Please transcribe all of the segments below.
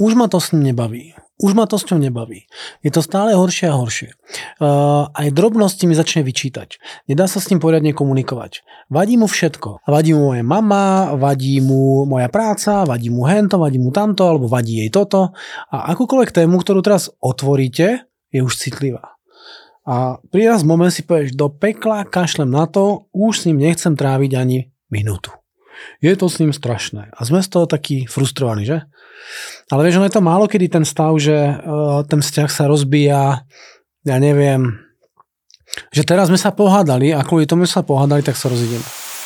už ma to s ním nebaví. Už ma to s ňou nebaví. Je to stále horšie a horšie. Aj drobnosti mi začne vyčítať. Nedá sa s ním poriadne komunikovať. Vadí mu všetko. Vadí mu moja mama, vadí mu moja práca, vadí mu hento, vadí mu tamto, alebo vadí jej toto. A akúkoľvek tému, ktorú teraz otvoríte, je už citlivá. A pri raz moment si povieš, do pekla kašlem na to, už s ním nechcem tráviť ani minútu. Je to s ním strašné. A sme z toho takí frustrovaní, že? Ale vieš, ono je to málo kedy ten stav, že ten vzťah sa rozbíja, ja neviem, že teraz sme sa pohádali a kvôli tomu sa pohádali, tak sa rozídeme.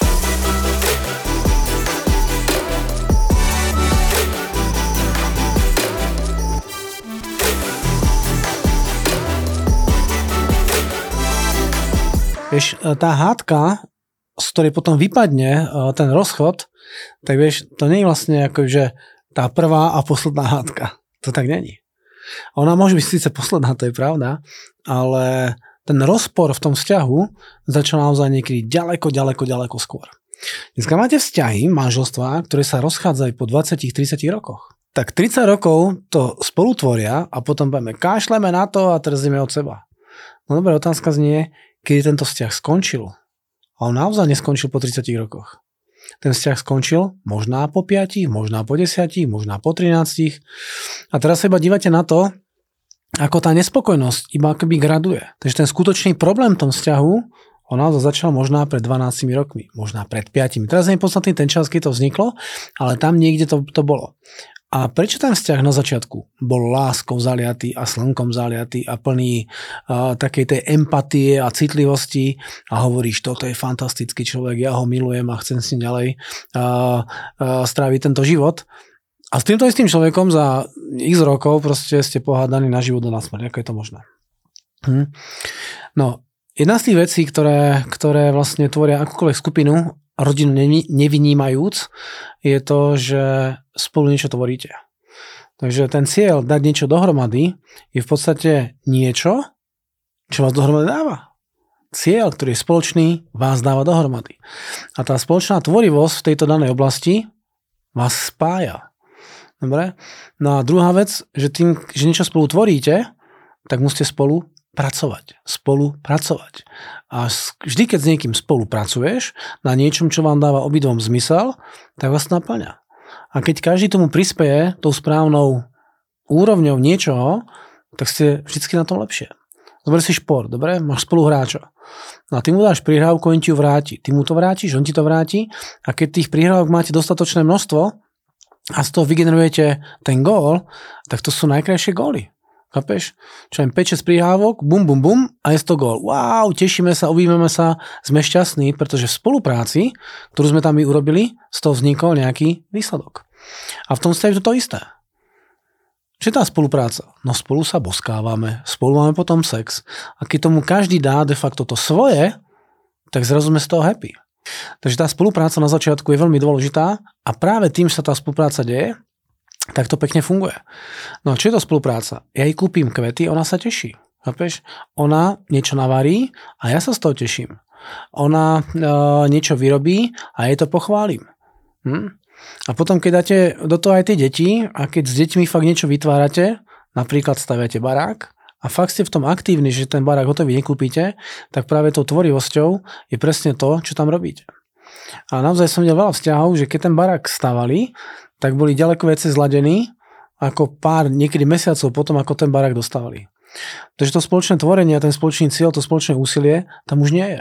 Vieš, tá hádka, z ktorej potom vypadne ten rozchod, tak vieš, to nie je vlastne ako, že tá prvá a posledná hádka. To tak není. Ona môže byť síce posledná, to je pravda, ale ten rozpor v tom vzťahu začal naozaj niekedy ďaleko skôr. Dneska máte vzťahy, manželstvá, ktoré sa rozchádzajú po 20-30 rokoch. Tak 30 rokov to spolutvoria a potom povieme, kašleme na to a trzíme od seba. No dobrá, otázka znie, kedy tento vzťah skončil. A on naozaj neskončil po 30 rokoch. Ten vzťah skončil možná po 5, možná po 10, možná po 13. A teraz sa iba dívate na to, ako tá nespokojnosť iba akoby graduje. Takže ten skutočný problém v tom vzťahu, on naozaj začal možná pred 12 rokmi, možná pred 5. Teraz nie je podstatný ten čas, keď to vzniklo, ale tam niekde to bolo. A prečo ten vzťah na začiatku bol láskou zaliatý a slnkom zaliatý a plný takej tej empatie a citlivosti a hovoríš, toto je fantastický človek, ja ho milujem a chcem s ním ďalej stráviť tento život. A s týmto istým človekom za x rokov proste ste pohádaní na život a na smrť. Ako je to možné? No, jedna z tých vecí, ktoré vlastne tvoria akúkoľvek skupinu, rodinu nevynímajúc, je to, že spolu niečo tvoríte. Takže ten cieľ dať niečo dohromady je v podstate niečo, čo vás dohromady dáva. Cieľ, ktorý je spoločný, vás dáva dohromady. A tá spoločná tvorivosť v tejto danej oblasti vás spája. Dobre? No a druhá vec, že tým, že niečo spolu tvoríte, tak musíte spolupracovať. A vždy, keď s niekým spolupracuješ na niečom, čo vám dáva obidvom zmysel, tak vás naplňa. A keď každý tomu prispeje tou správnou úrovňou niečoho, tak ste vždycky na tom lepšie. Zober si šport, dobre? Máš spoluhráča. No a ty mu dáš prihrávku, on ti ju vráti. Ty mu to vrátiš, on ti to vráti. A keď tých prihrávok máte dostatočné množstvo a z toho vygenerujete ten gól, tak to sú najkrajšie góly. Chápeš? Čo len 5-6 prihrávok, bum a je to gól. Wow, tešíme sa, objímeme sa, sme šťastní, pretože v spolupráci, ktorú sme tam urobili, z toho vznikol nejaký výsledok. A v tom vzťahu je to isté. Čo je tá spolupráca? No spolu sa boskávame, spolu máme potom sex. A keď tomu každý dá de facto to svoje, tak zrazu sme z toho happy. Takže tá spolupráca na začiatku je veľmi dôležitá a práve tým, že sa tá spolupráca deje, tak to pekne funguje. No a čo je to spolupráca? Ja jej kúpim kvety, ona sa teší. Chápeš? Ona niečo navarí a ja sa z toho teším. Ona niečo vyrobí a jej to pochválim. A potom, keď dáte do toho aj tie deti a keď s deťmi fakt niečo vytvárate, napríklad staviate barák a fakt ste v tom aktívni, že ten barák hotový nekúpite, tak práve tou tvorivosťou je presne to, čo tam robíte. A naozaj som videl veľa vzťahov, že keď ten barák stavali, tak boli ďaleko viacej zladení ako pár niekedy mesiacov potom, ako ten barák dostávali. Takže to spoločné tvorenie a ten spoločný cieľ, to spoločné úsilie tam už nie je.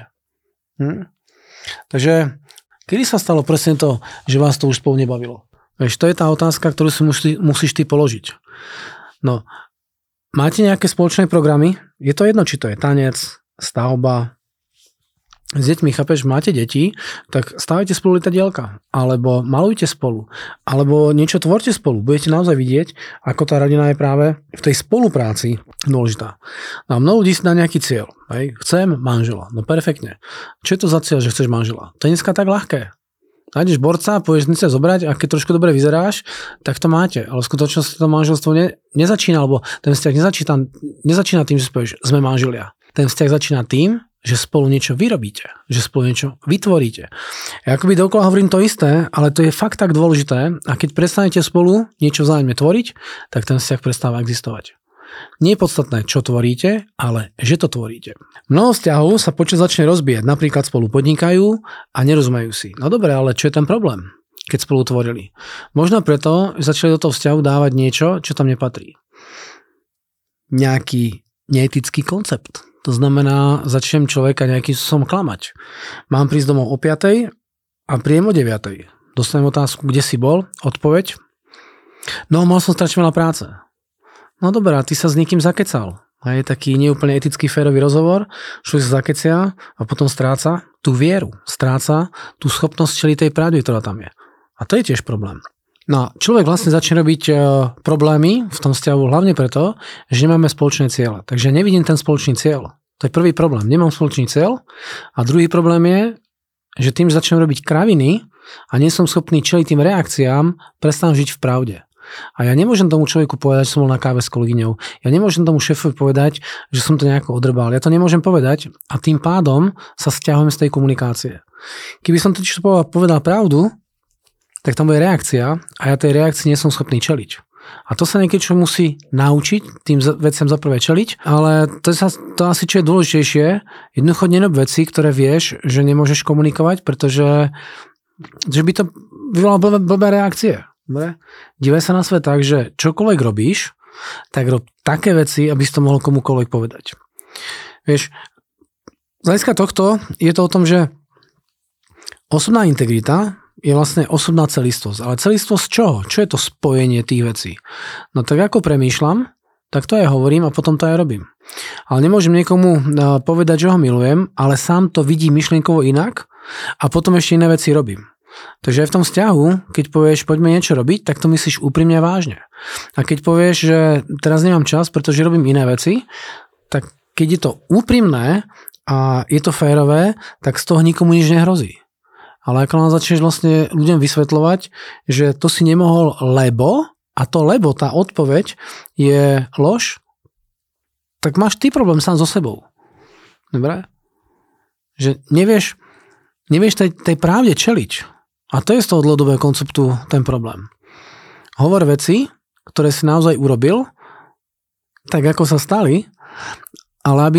Takže kedy sa stalo presne to, že vás to už spolu nebavilo? Vieš, to je tá otázka, ktorú si musíš ty položiť. No, máte nejaké spoločné programy? Je to jedno, či to je tanec, stavba, s deťmi, chápeš, máte deti, tak stávajte spolu lietadielka, alebo malujte spolu, alebo niečo tvorte spolu. Budete naozaj vidieť, ako tá rodina je práve v tej spolupráci dôležitá. No a mnoho ľudí si dá nejaký cieľ. Hej? Chcem manžela. No perfektne. Čo je to za cieľ, že chceš manžela? To je dneska tak ľahké. Nájdeš borca, pôjdeš dnes zobrať a keď trošku dobre vyzeráš, tak to máte. Ale v skutočnosti to manželstvo nezačína, alebo ten vzťah nezačína tým, že povieš, sme manželia. Ten vzťah začína tým, že spolu niečo vyrobíte, že spolu niečo vytvoríte. Ja akoby dokola hovorím to isté, ale to je fakt tak dôležité a keď prestanete spolu niečo vzájomne tvoriť, tak ten vzťah prestáva existovať. Nie je podstatné, čo tvoríte, ale že to tvoríte. Mnoho vzťahov sa počas začne rozbíjať, napríklad spolu podnikajú a nerozumejú si. No dobre, ale čo je ten problém, keď spolu tvorili? Možno preto, že začali do toho vzťahu dávať niečo, čo tam nepatrí. Nejaký neetický koncept. To znamená, začnem človeka nejakým spôsobom klamať. Mám prísť domov o 5:00 a príjem o 9:00. Dostanem otázku, kde si bol? Odpoveď? No, mal som strašne veľa práce. No dobré, ty sa s niekým zakecal. A je taký neúplne etický férový rozhovor, človek sa zakecia a potom stráca tú vieru, stráca tú schopnosť čeliť tej pravde, ktorá tam je. A to je tiež problém. No a človek vlastne začne robiť problémy v tom vzťahu hlavne preto, že nemáme spoločné ciele. Takže nevidím ten spoločný cieľ. To je prvý problém. Nemám spoločný cieľ. A druhý problém je, že tým, že začnem robiť kraviny a nie som schopný čeliť tým reakciám, prestanám žiť v pravde. A ja nemôžem tomu človeku povedať, že som bol na káve s kolegyňou. Ja nemôžem tomu šéfovi povedať, že som to nejako odrbal. Ja to nemôžem povedať a tým pádom sa stiahujem z tej komunikácie. Keby som totiž povedal pravdu, tak tam bude reakcia a ja tej reakcii nie som schopný čeliť. A to sa niekedy čo musí naučiť, tým veciam za prvé čeliť, ale to asi čo je dôležitejšie, jednoducho nerob veci, ktoré vieš, že nemôžeš komunikovať, pretože že by to vyvolalo blbé reakcie. Dobre? Dívaj sa na svet tak, že čokoľvek robíš, tak rob také veci, aby si to mohol komukoľvek povedať. Vieš, z hľadiska tohto je to o tom, že osobná integrita je vlastne osobná celistvosť. Ale celistvosť čoho? Čo je to spojenie tých vecí? No tak ako premýšľam, tak to aj hovorím a potom to aj robím. Ale nemôžem niekomu povedať, že ho milujem, ale sám to vidí myšlienkovo inak a potom ešte iné veci robím. Takže aj v tom vzťahu, keď povieš, poďme niečo robiť, tak to myslíš úprimne a vážne. A keď povieš, že teraz nemám čas, pretože robím iné veci, tak keď je to úprimné a je to férové, tak z toho nikomu nič nehrozí. Ale ako nám začneš vlastne ľuďom vysvetľovať, že to si nemohol, lebo, a to lebo, tá odpoveď je lož, tak máš ty problém sám so sebou. Dobre? Že nevieš tej pravde čeliť. A to je z toho dlhodobého konceptu ten problém. Hovor veci, ktoré si naozaj urobil, tak ako sa stali, ale aby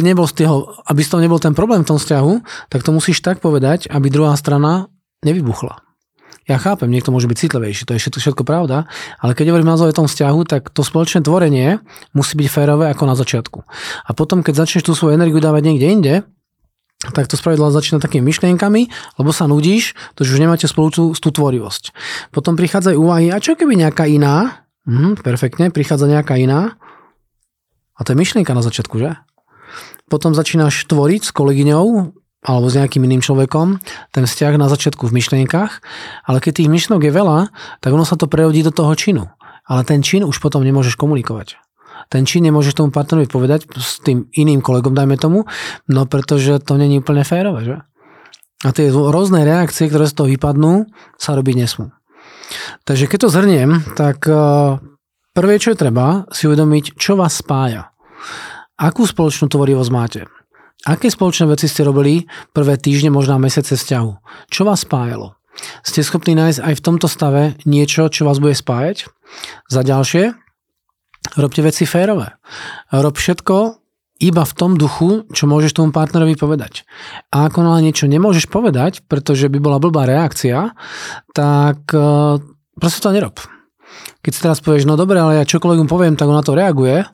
z toho nebol ten problém v tom vzťahu, tak to musíš tak povedať, aby druhá strana nevybuchla. Ja chápem, niekto môže byť citlivejší, to je všetko pravda, ale keď hovorím naozaj o tom vzťahu, tak to spoločné tvorenie musí byť férové ako na začiatku. A potom, keď začneš tú svoju energiu dávať niekde inde, tak to spravidla začína takými myšlienkami, lebo sa nudíš, to už nemáte spolu tú tvorivosť. Potom prichádzajú úvahy, a čo keby nejaká iná? Perfektne, prichádza nejaká iná. A to je myšlienka na začiatku, že? Potom začínaš tvoriť s kolegyňou alebo s nejakým iným človekom ten vzťah na začiatku v myšlienkach, ale keď tých myšlienok je veľa, tak ono sa to prerodí do toho činu. Ale ten čin už potom nemôžeš komunikovať. Ten čin nemôžeš tomu partnerovi povedať s tým iným kolegom, dajme tomu, no pretože to nie je úplne férové, že? A tie rôzne reakcie, ktoré z toho vypadnú, sa robiť nesmú. Takže keď to zhrniem, tak prvé, čo je treba, si uvedomiť, čo vás spája. Akú spoločnú tvorivosť máte? Aké spoločné veci ste robili prvé týždne, možno mesiace vzťahu? Čo vás spájalo? Ste schopní nájsť aj v tomto stave niečo, čo vás bude spájať? Za ďalšie, robte veci férové. Rob všetko iba v tom duchu, čo môžeš tomu partnerovi povedať. A ako náhle niečo nemôžeš povedať, pretože by bola blbá reakcia, tak proste to nerob. Keď si teraz povieš, no dobre, ale ja čokoľvek mu poviem, tak on na to reaguje.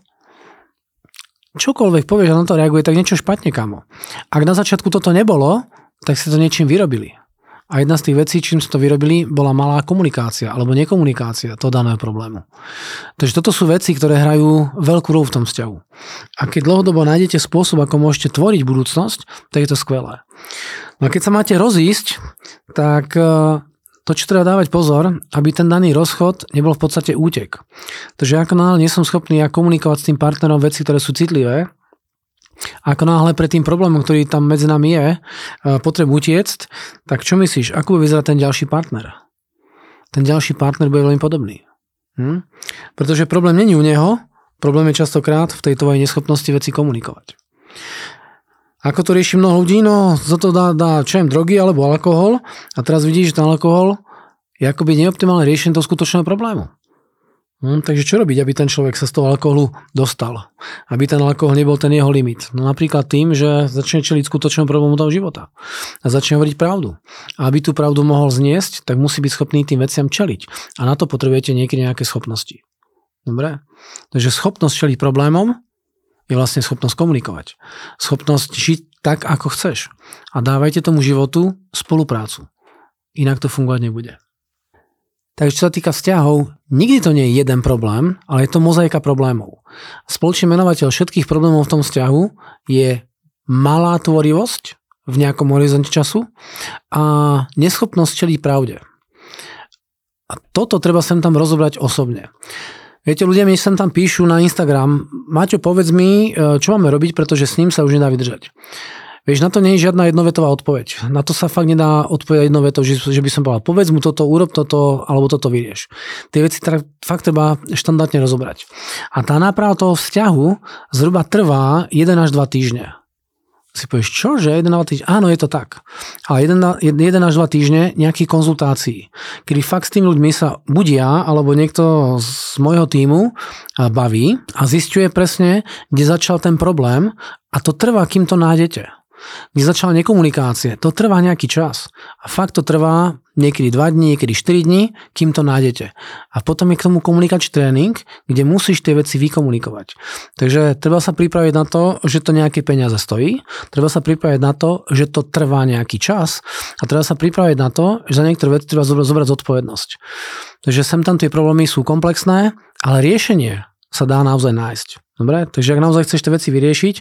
Čokoľvek povieš, že na to reaguje, tak niečo špatne, kamo. Ak na začiatku toto nebolo, tak ste to niečím vyrobili. A jedna z tých vecí, čím ste to vyrobili, bola malá komunikácia alebo nekomunikácia toho daného problému. Takže toto sú veci, ktoré hrajú veľkú rolu v tom vzťahu. A keď dlhodobo nájdete spôsob, ako môžete tvoriť budúcnosť, tak je to skvelé. No a keď sa máte rozísť, tak to, čo treba dávať pozor, aby ten daný rozchod nebol v podstate útek. Takže ako náhle nie som schopný komunikovať s tým partnerom veci, ktoré sú citlivé, ako náhle pred tým problémom, ktorý tam medzi nami je, potrebujem utiecť, tak čo myslíš, ako bude vyzerať ten ďalší partner? Ten ďalší partner bude veľmi podobný. Pretože problém není u neho, problém je častokrát v tej tvojej neschopnosti veci komunikovať. Ako to rieši mnoho ľudí? No, za to dá drogy alebo alkohol a teraz vidíš, že ten alkohol je akoby neoptimálne riešenie toho skutočného problému. Takže čo robiť, aby ten človek sa z toho alkoholu dostal? Aby ten alkohol nebol ten jeho limit? No napríklad tým, že začne čeliť skutočnému problému toho života. A začne hovoriť pravdu. A aby tú pravdu mohol zniesť, tak musí byť schopný tým veciam čeliť. A na to potrebujete niekedy nejaké schopnosti. Dobre? Takže schopnosť čeliť problémom je vlastne schopnosť komunikovať. Schopnosť žiť tak, ako chceš. A dávajte tomu životu spoluprácu. Inak to fungovať nebude. Takže čo sa týka vzťahov, nikdy to nie je jeden problém, ale je to mozaika problémov. Spoločný menovateľ všetkých problémov v tom vzťahu je malá tvorivosť v nejakom horizonte času a neschopnosť čeliť pravde. A toto treba sem tam rozobrať osobne. Viete, ľudia mi sem tam píšu na Instagram: Maťo, povedz mi, čo máme robiť, pretože s ním sa už nedá vydržať. Vieš, na to nie je žiadna jednovetová odpoveď. Na to sa fakt nedá odpovedať jednovetou, že by som povedal, povedz mu toto, urob toto, alebo toto vyrieš. Tie veci fakt treba štandardne rozobrať. A tá náprava toho vzťahu zhruba trvá 1 až 2 týždne. Si povieš, čože? 1 až 2 týždne? Áno, je to tak. Ale 1 až 2 týždne nejakých konzultácií, kedy fakt s tými ľuďmi sa buď ja, alebo niekto z môjho tímu baví a zisťuje presne, kde začal ten problém, a to trvá, kým to nájdete. Kde začala nekomunikácie, to trvá nejaký čas. A fakt to trvá niekedy 2 dní, niekedy 4 dní, kým to nájdete. A potom je k tomu komunikačný tréning, kde musíš tie veci vykomunikovať. Takže treba sa pripraviť na to, že to nejaké peniaze stojí, treba sa pripraviť na to, že to trvá nejaký čas a treba sa pripraviť na to, že za niektoré veci treba zobrať zodpovednosť. Takže sem tam tie problémy sú komplexné, ale riešenie sa dá naozaj nájsť. Dobre? Takže ak naozaj chceš tie veci vyriešiť,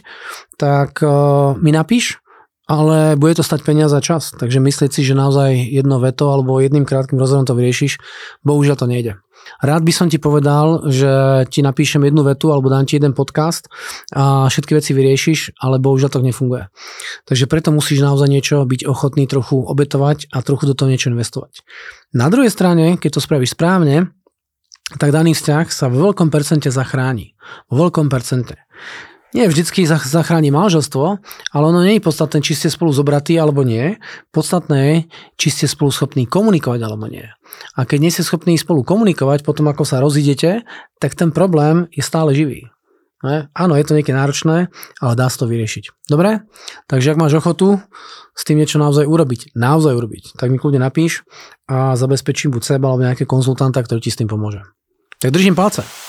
tak mi napíš, ale bude to stať peniaze a čas. Takže myslieť si, že naozaj jedno veto alebo jedným krátkym rozhovorom to vyriešiš, bohužiaľ to nejde. Rád by som ti povedal, že ti napíšem jednu vetu alebo dám ti jeden podcast a všetky veci vyriešiš, ale bohužiaľ to nefunguje. Takže preto musíš naozaj niečo byť ochotný trochu obetovať a trochu do toho niečo investovať. Na druhej strane, keď to spravíš správne, tak daný vzťah sa vo veľkom percente zachráni. Vo veľkom percente. Nie vždycky zachráni manželstvo, ale ono nie je podstatné, či ste spolu zobratí alebo nie. Podstatné je, či ste spolu schopní komunikovať alebo nie. A keď nie ste schopní spolu komunikovať, potom ako sa rozídete, tak ten problém je stále živý. Áno, je to niekedy náročné, ale dá sa to vyriešiť. Dobre? Takže ak máš ochotu s tým niečo naozaj urobiť, tak mi kľudne napíš a zabezpečím buď seba alebo nejaké konzultanta, ktorý ti s tým pomôže. Tak držím palce.